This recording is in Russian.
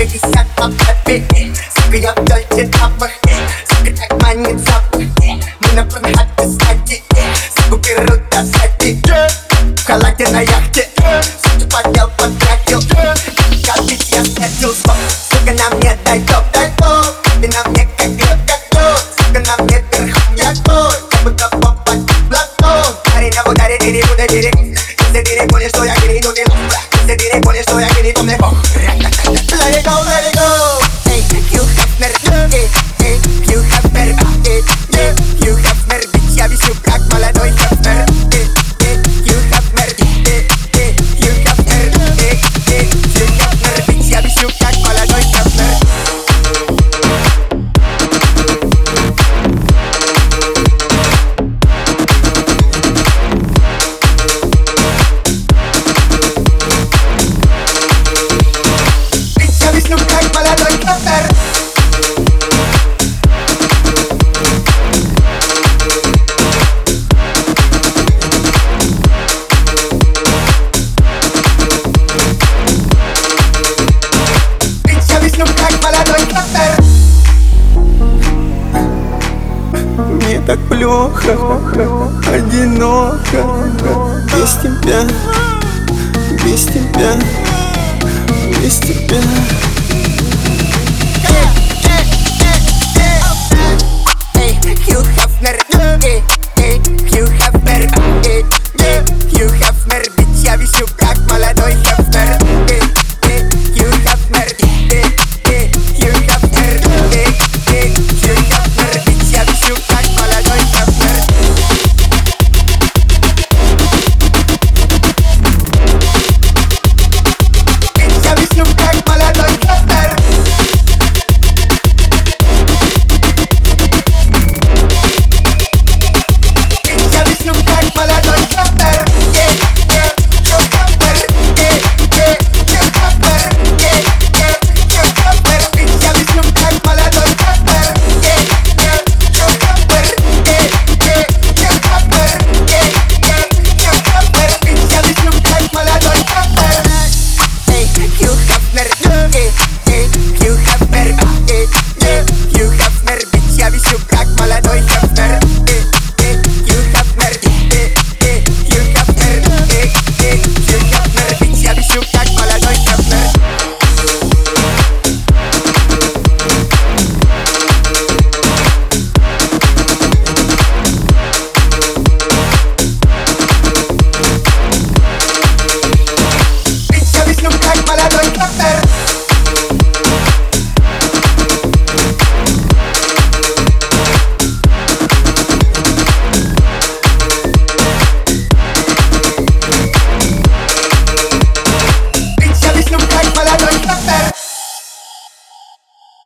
150 по папе. Сука, я в дольче тапах. Сука, так манит запах. Мы на пронхате стати. Суку берут до сати. В халате на яхте. Сука, подел, потратил. Капить я спятил. Сука, на мне дай топ. Ты на мне как греб, как тот. Сука, на мне верхом я твой. Как будто попасть в платон. Парень на ударе, ты буду берег. Если ты не понял, что я гниду, ты лох. Если ты не понял, что я гниду, мне бог. Let it go, let it go. Hey, you have mercy. Hey, you have mercy. Yeah, you have mercy. Я висю как молодой хефер. You have mercy. You have mercy. You have mercy. Я висю как молодой хефер. Мне так плохо, одиноко, без тебя, без тебя, без тебя.